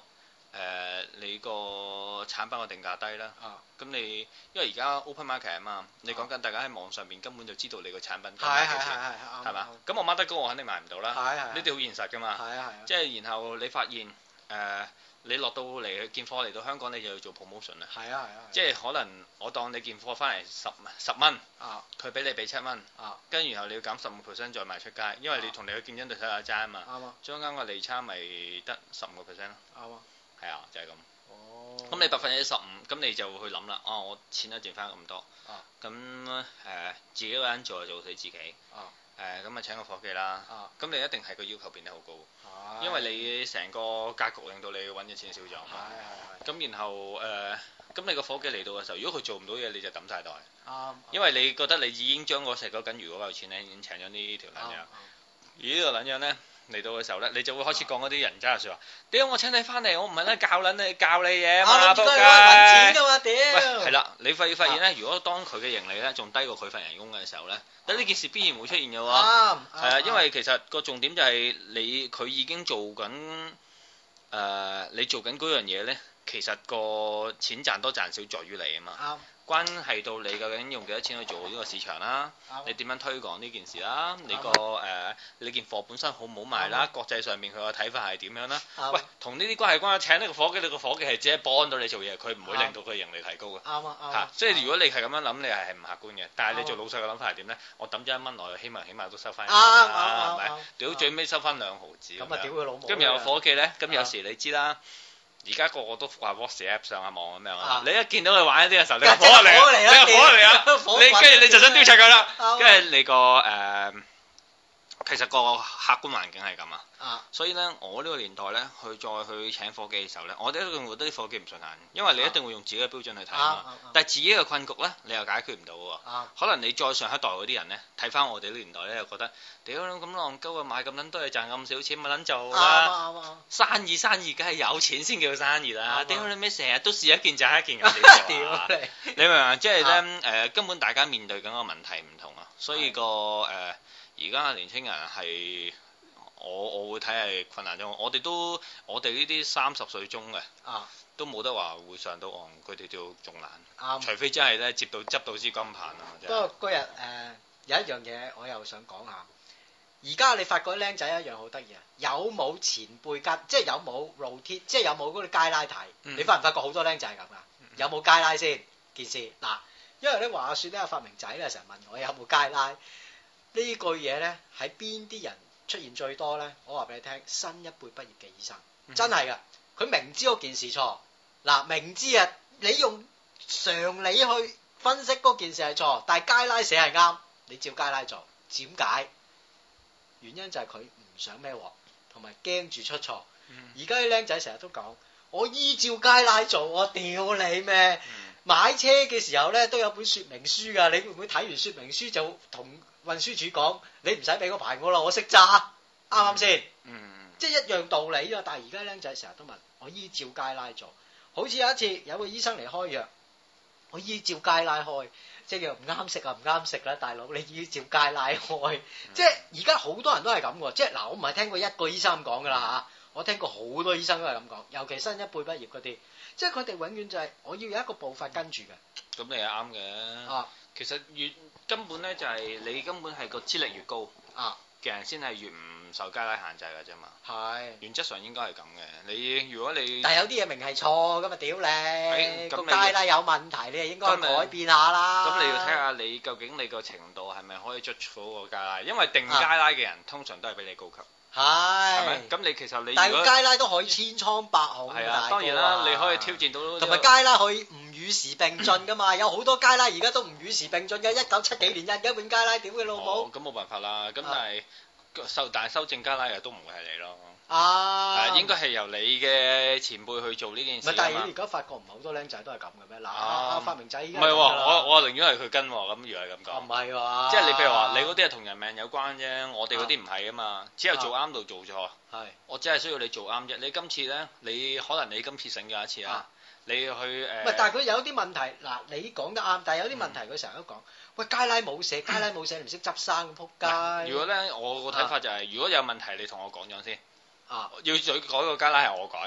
誒你個產品個定價低啦。咁你因為而家 open market 啊嘛，你講緊大家喺網上邊根本就知道你個產品價幾錢，係嘛？咁我掹得高我肯定賣唔到啦。呢啲好現實㗎嘛。即係然後你發現誒。你落到嚟件貨嚟到香港，你就要做 promotion 啦。係啊係啊。即係可能我當你件貨翻嚟十十蚊，佢俾你俾七蚊，跟住然後你要減十五 percent 再賣出街，因為你同你嘅競爭對手有爭啊嘛。啱啊。中間個利差咪得十五個 percent 咯。啱啊。係啊，就係咁。哦。咁你百分之十五，咁你就會去諗啦。哦，我錢都賺翻咁多。啊。咁誒，自己一個人做就做死自己。啊。誒咁啊請個夥計啦，咁你一定係個要求變得好高，因為你成個格局令到你揾嘅錢少咗，咁然後誒咁你個夥計嚟到嘅時候，如果佢做唔到嘢，你就抌晒袋，因為你覺得你已經將嗰食嗰緊魚嗰嚿錢咧已經請咗呢條撚樣，而呢個撚樣咧嚟到嘅時候咧，你就會開始講嗰啲人渣嘅説話，屌我請你翻嚟，我唔係咧教撚你教你嘢嘛，仆街，揾錢㗎嘛，屌，喂係啦，你發發現咧，如果當佢嘅盈利咧仲低過佢份人工嘅時候咧。但呢件事必然會出現嘅喎，係啊，因為其實個重點就係你佢已經做緊誒、呃，你做緊嗰樣嘢咧，其實個錢賺多賺少在於你啊嘛。啱。關係到你究竟用幾多錢去做呢個市場啦，你點樣推廣呢件事啦，你個誒你件貨本身好唔好賣啦，國際上面佢個睇法係點樣啦？喂，同呢啲關係關係，請呢個夥計，你個夥計係只係幫到你做嘢，佢唔會令到佢盈利提高嘅。啱啊啱。嚇，所以如果你係咁樣諗，你係係唔客觀嘅。但係你做老細嘅諗法係點咧？我抌咗一蚊落去，希望起碼都收翻一蚊啦，係咪？屌最尾收翻兩毫子。咁啊屌佢老母！咁然後夥計咧，咁有時你知啦。而家個個都話 WhatsApp 上下網咁樣啊！你一見到佢玩一啲嘅時候，你火嚟啊！你火嚟啊！你跟住你就想丟柒佢啦，跟住你個誒，其實個客觀環境係咁啊。啊！所以咧，我呢個年代咧，去再去請夥計嘅時候咧，我哋一定覺得啲夥計唔順眼，因為你一定會用自己嘅標準去睇啊嘛。但係自己嘅困局咧，你又解決唔到喎。可能你再上一代嗰啲人咧，睇翻我哋呢個年代咧，又覺得屌咁浪鳩啊，買咁撚多嘢賺咁少錢，咪撚做啦。生意生意梗係有錢先叫生意啦。屌你咩成日都試一件賺一件咁屌你！你明唔明？即係咧誒，根本大家面對緊個問題唔同啊，所以個誒而家嘅年輕人係。我我會睇係困難中，我哋都我哋呢啲三十歲中嘅，啊、都冇得話會上到岸，佢哋就仲難，啊、除非真係咧接到執到支金棒啊！不過嗰日誒有一樣嘢我又想講下，而家你發覺僆仔一樣好得意啊，有冇前輩跟，即係有冇路鐵，即係有冇嗰啲街拉睇？嗯、你發唔發覺好多僆仔係咁噶？嗯、有冇街拉先件事？嗱，因為咧話説咧，發明仔咧成日問我有冇街拉，呢句嘢咧喺邊啲人出現最多咧，我話俾你聽，新一輩畢業嘅醫生，嗯、真係噶，佢明知嗰件事錯，嗱明知啊，你用常理去分析嗰件事係錯，但係街拉寫係啱，你照街拉做，點解？原因就係佢唔想孭鑊，同埋驚住出錯。而家啲僆仔成日都講，我依照街拉做，我屌你咩？嗯、買車嘅時候咧都有本說明書噶，你會唔會睇完說明書就同運輸署講，你唔使俾個牌我啦，我識揸，啱啱先？嗯，即係一樣道理啊！但係而家僆仔成日都問我依照街拉做，好似有一次有個醫生嚟開藥，我依照街拉開，即係藥唔啱食啊，唔啱食啦，大佬你依照街拉開，嗯、即係而家好多人都係咁嘅，即係嗱，我唔係聽過一個醫生咁講噶啦嚇，我聽過好多醫生都係咁講，尤其新一輩畢業嗰啲，即係佢哋永遠就係、是、我要有一個步伐跟住嘅。咁你係啱嘅。啊，其實越根本咧就係你根本係個資歷越高啊嘅人先係越唔受街拉限制嘅啫嘛。係是原則上應該係咁嘅。你如果你但係有啲嘢明係錯咁啊屌你個街拉有問題，你係應該改變下啦。咁你要睇下你究竟你個程度係咪可以捉到個街拉？因為定街拉嘅人、啊、通常都係比你高級。係，係咪？咁你其實你但係街拉都可以千瘡百孔。係啊，當然啦，你可以挑戰到。同埋街拉可以唔與時並進噶嘛，有好多街拉而家都唔與時並進嘅，一九七幾年印嘅本街拉，屌佢老母！咁冇辦法啦，咁但係修但係修正街拉嘅都唔會係你咯。啊，應該係由你嘅前輩去做呢件事。唔係，但係你而家發覺唔係好多僆仔都係咁嘅咩？嗱，發明仔依家唔係喎，我我寧願係佢跟喎，咁如果係咁講。唔係喎，即係你譬如話，你嗰啲係同人命有關啫，我哋嗰啲唔係啊嘛，只有做啱度做錯。係，我只係需要你做啱啫。你今次咧，你可能你今次醒咗一次啊，你去誒。唔係，但係佢有啲問題，嗱，你講得啱，但係有啲問題佢成日都講，喂，街拉冇寫，街拉冇寫，你唔識執生，仆街。如果咧，我個睇法就係，如果有問題，你同我講咗先。啊！要再改個街拉係我改，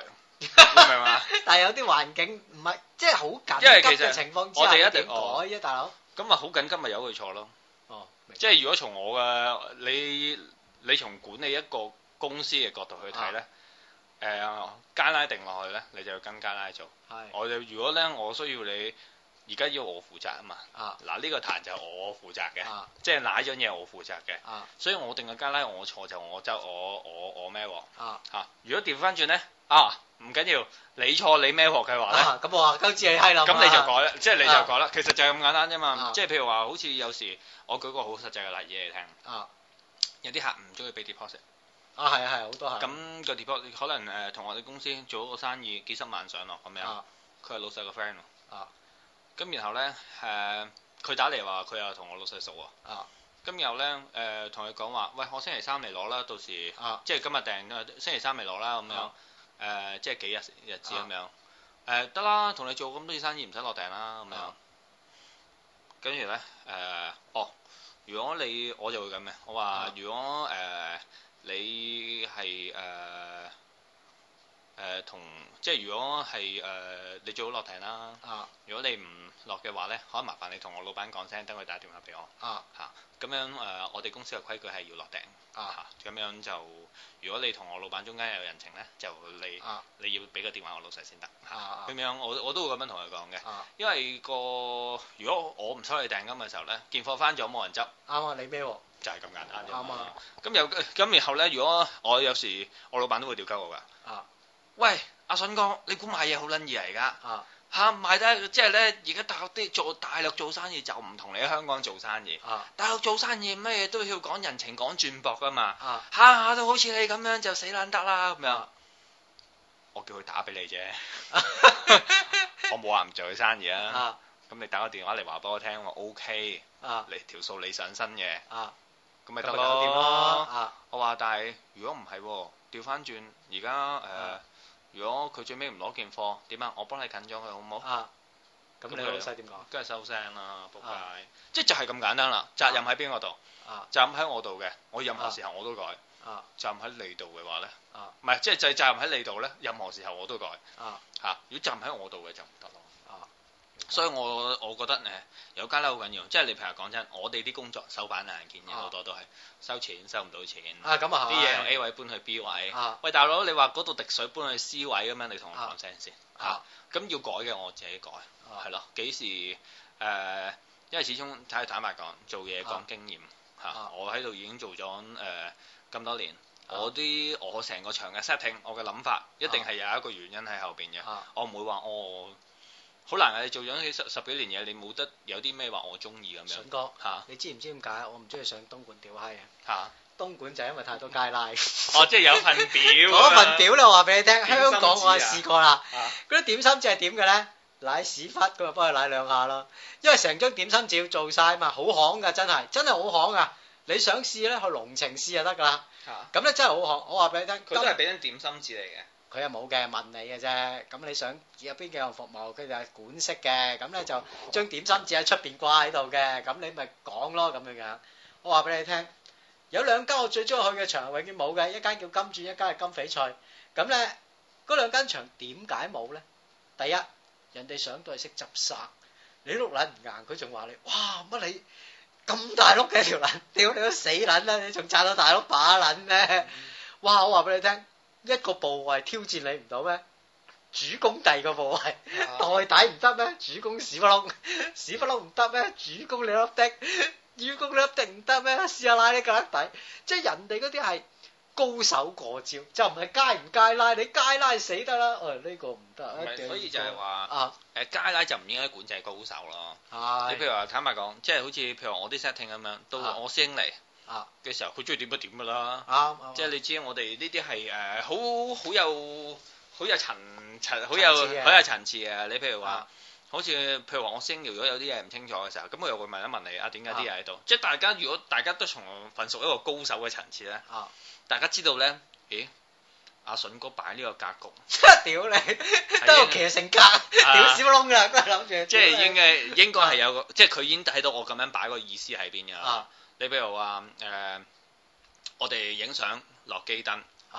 明嘛？ 但係有啲環境唔係即係好緊急嘅情況之下， 我哋一定改啫，大佬。 咁啊好緊急咪由佢錯咯。 哦， 即係如果從我嘅你你從管理一個公司嘅角度去睇咧，誒加拉定落去咧，你就要跟加拉做。係。我就如果咧，我需要你。而家要我負責啊嘛，嗱呢個壇就係我負責嘅，即係哪樣嘢我負責嘅，所以我定個加拉我錯就我就我我我孭鑊嚇。如果調翻轉咧，啊唔緊要，你錯你孭鑊嘅話咧， 咁我話鳩知你閪啦， 咁你就改啦，即係你就改啦。其實就係咁簡單啫嘛，即係譬如話好似有時我舉個好實際嘅例子你聽，有啲客唔中意俾 deposit， 啊係啊係好多係， 咁個 deposit 可能誒同我哋公司做一個生意幾十萬上落咁樣，佢係老細個 friend 喎。咁然後咧，誒、呃、佢打嚟話佢又同我老細熟喎。啊。咁然後咧，誒同佢講話，喂，我星期三嚟攞啦，到時，啊、即係今日訂，星期三嚟攞啦，咁樣，誒、啊呃、即係幾日日子咁樣，誒得啦，同你做咁多次生意唔使落訂啦，咁樣。跟住咧，誒、呃，哦，如果你我就會咁嘅，我話、啊、如果誒、呃、你係誒。呃誒同、呃、即係如果係誒、呃、你最好落訂啦。啊！如果你唔落嘅話咧，可以麻煩你同我老闆講聲，等佢打電話俾我。啊！嚇咁樣誒、呃，我哋公司嘅規矩係要落訂。啊！咁樣就如果你同我老闆中間有人情咧，就你、啊、你要俾個電話我老細先得。啊！咁樣我我都會咁樣同佢講嘅。啊！因為個如果我唔收你訂金嘅時候咧，件貨翻咗冇人執。啱啊！你咩喎？就係咁簡單啫。啱啊！咁有咁然後咧，如果我有時我老闆都會調鳩我㗎。啊！喂，阿筍哥，你估買嘢好撚易嚟㗎？啊嚇買得即係咧，而家大陸啲做大陸做生意就唔同你喺香港做生意。啊，大陸做生意乜嘢都要講人情講轉博㗎嘛。啊，下下都好似你咁樣就死撚得啦咁樣。啊、我叫佢打俾你啫，我冇話唔做佢生意啊。咁你打個電話嚟話俾我聽，我 OK。啊，你條數你上身嘅。啊，咁咪得咯。啊，我話但係如果唔係喎，調翻轉而家誒。呃如果佢最尾唔攞件貨，點啊？我幫你近咗佢好唔好？啊！咁你老細點講？梗係收聲啦，仆街！即係就係咁簡單啦。責任喺邊個度？啊！責任喺我度嘅，我任何時候我都改。啊！責任喺你度嘅話咧？啊！唔係，即係就係責任喺你度咧，任何時候我都改。啊！嚇！如果責任喺我度嘅就唔得咯。啊！所以我我覺得誒有加拉好緊要，即係你譬如講真，我哋啲工作手板眼見嘅好多都係收錢收唔到錢。啊咁啊啲嘢由 A 位搬去 B 位。啊！喂大佬，你話嗰度滴水搬去 C 位咁樣，你同我講聲先。啊！咁要改嘅我自己改，係咯。幾時誒？因為始終睇坦白講，做嘢講經驗嚇。我喺度已經做咗誒咁多年，我啲我成個場嘅 setting，我嘅諗法一定係有一個原因喺後邊嘅。我唔會話我。好難啊！你做咗十十幾年嘢，你冇得有啲咩話我中意咁樣。筍哥嚇，啊、你知唔知點解我唔中意上東莞屌閪啊？嚇！東莞就係因為太多街拉。哦，即係有份表。嗰份表咧，我話俾你聽，香港我係試過啦。嗰啲、啊、點心紙係點嘅咧？舐屎忽咁啊，幫佢舐兩下咯。因為成張點心紙要做晒嘛，好行㗎，真係真係好行㗎。你想試咧，去龍情試就得㗎啦。嚇！咁咧真係好行，我話俾你聽。佢都係俾張點心紙嚟嘅。佢又冇嘅，問你嘅啫。咁你想有邊幾樣服務，佢就係管式嘅。咁咧就將點心紙喺出邊掛喺度嘅。咁你咪講咯咁樣樣。我話俾你聽，有兩間我最中意去嘅場，永遠冇嘅。一間叫金鑽，一間係金翡翠。咁咧嗰兩間場點解冇咧？第一，人哋上到係識執生，你碌撚唔硬，佢仲話你，哇乜你咁大碌嘅條撚，屌你都死撚啦！你仲撐到大碌把撚咩？哇！我話俾你聽。一個部位挑戰你唔到咩？主攻第二個部位，袋底唔得咩？主攻屎忽窿，屎忽窿唔得咩？主攻你粒的，主攻你粒的唔得咩？試下拉你個粒底，即係人哋嗰啲係高手過招，就唔係街唔街拉，你街拉死得啦。誒、哎、呢、這個唔得。唔係，所以就係話啊，誒街拉就唔應該管制高手咯。係。你譬如話坦白講，即係好似譬如我啲 setting 咁樣，到我師兄嚟。啊嘅時候，佢中意點就點噶啦，啱，即係你知我哋呢啲係誒好好有好有層層好有好有層次嘅。你譬如話，好似譬如話我星，如果有啲嘢唔清楚嘅時候，咁我又會問一問你啊，點解啲嘢喺度？即係大家如果大家都從份屬一個高手嘅層次咧，大家知道咧，咦？阿筍哥擺呢個格局，屌你，都有騎乘格，屌屎窿噶，都係諗住。即係應該應該係有個，即係佢已經睇到我咁樣擺個意思喺邊噶。你譬如話誒、呃，我哋影相落機燈，啊，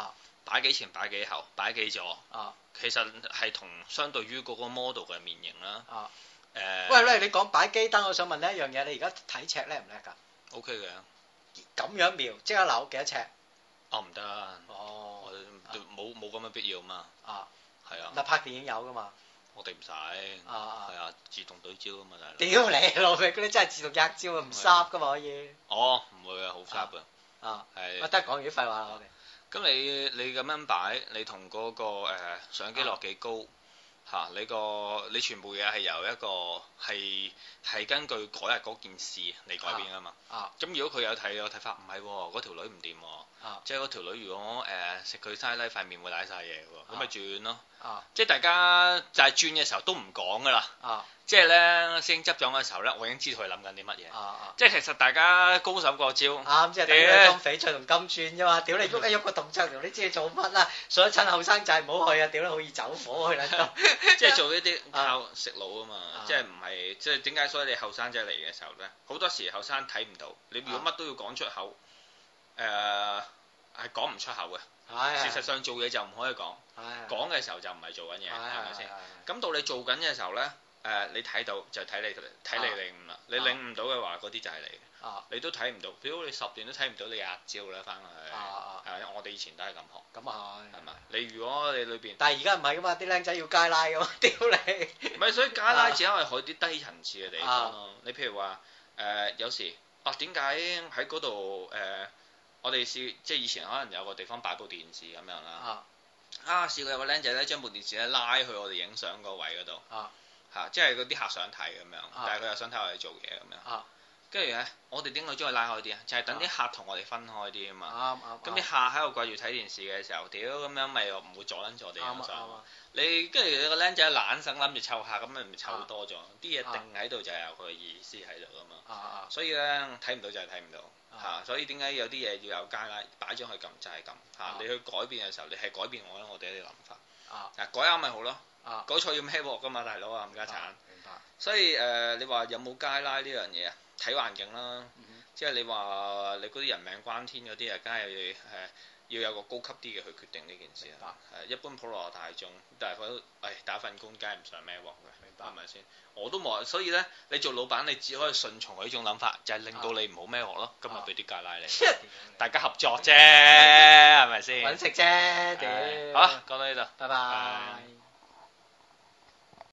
擺幾前擺幾後擺幾左，啊，其實係同相對於嗰個 model 嘅面型啦。啊，誒、呃， 喂喂，你講擺機燈，我想問你一樣嘢，你而家睇尺叻唔叻㗎 ？O K 嘅。咁樣瞄即刻扭幾多尺？ 哦，唔得。哦。冇冇咁嘅必要嘛。啊。係啊。 嗱，拍電影有㗎嘛？ 我哋唔使。啊。係啊，自動對焦㗎嘛，大佬。 屌你老味，嗰啲真係自動壓焦啊，唔濕㗎嘛可以。 哦，唔會啊，好濕㗎。啊。係。 我得講完啲廢話啦，我哋。 咁你你咁樣擺，你同嗰、那個誒、呃、相機落幾高嚇、啊？你個你全部嘢係由一個係係根據嗰日嗰件事嚟改變㗎嘛？啊！咁、啊、如果佢有睇有睇法，唔係喎，嗰條女唔掂喎，啊、即係嗰條女如果誒食佢沙拉塊面會舐晒嘢喎，咁咪、啊、轉咯。啊！即係大家就係轉嘅時候都唔講㗎啦。啊！即係咧，師兄執咗嘅時候咧，我已經知道佢諗緊啲乜嘢。啊啊！即係其實大家高手過招。啱，即係等於金翡翠同金鑽啫嘛。屌你喐一喐個動作，你知你做乜啦？所以趁後生仔唔好去啊！屌你好易走火去啦。即係做呢啲靠食腦啊嘛。即係唔係即係點解？所以你後生仔嚟嘅時候咧，好多時後生睇唔到。你如果乜都要講出口，誒係講唔出口嘅。事實上做嘢就唔可以講。講嘅時候就唔係做緊嘢，係咪先？咁到你做緊嘅時候咧。誒、呃，你睇到就睇你睇你領悟啦，你領悟到嘅話，嗰啲就係你嘅，啊、你都睇唔到，屌你十年都睇唔到你壓招啦，翻去，係、啊啊、我哋以前都係咁學，咁啊係，係嘛？你如果你裏邊，但係而家唔係噶嘛，啲僆仔要街拉噶嘛，屌你！唔係，所以街拉只係去啲低層次嘅地方咯。啊、你譬如話誒、呃，有時啊，點解喺嗰度誒，我哋試即係以前可能有個地方擺部電視咁樣啦，啊，啊試過有個僆仔咧將部電視咧拉去我哋影相個位嗰度。啊嚇，即係嗰啲客想睇咁樣，啊、但係佢又想睇我哋做嘢咁樣。跟住咧，我哋點解將佢拉開啲啊？就係、是、等啲客同我哋分開啲啊嘛。啱啱。咁啲客喺度掛住睇電視嘅時候，屌咁樣咪又唔會阻撚住我哋影相。你跟住你個僆仔懶醒諗住湊客，咁咪咪湊多咗。啲嘢、啊、定喺度就係有佢嘅意思喺度噶嘛。啊啊、所以咧睇唔到就係睇唔到嚇、啊。所以點解有啲嘢要有街拉擺咗去撳就係咁嚇。你去改變嘅時候，你係改變我我哋啲諗法。啊，改啱咪好咯。啊，改錯要孭鑊噶嘛，大佬啊，冚家鏟。明白。所以誒、呃，你話有冇街拉呢樣嘢啊？睇環境啦，嗯、哼即係你話你嗰啲人命關天嗰啲啊，梗係誒要有個高級啲嘅去決定呢件事啊。係白一般普羅大眾，但係佢誒打份工，梗係唔想孭鑊嘅，明白係咪先？我都冇，所以咧，你做老闆，你只可以順從佢呢種諗法，就係、是、令到你唔好孭鑊咯。今日俾啲街拉你，啊、大家合作啫，係咪先？揾食啫，屌。好啦，講到呢度，拜拜。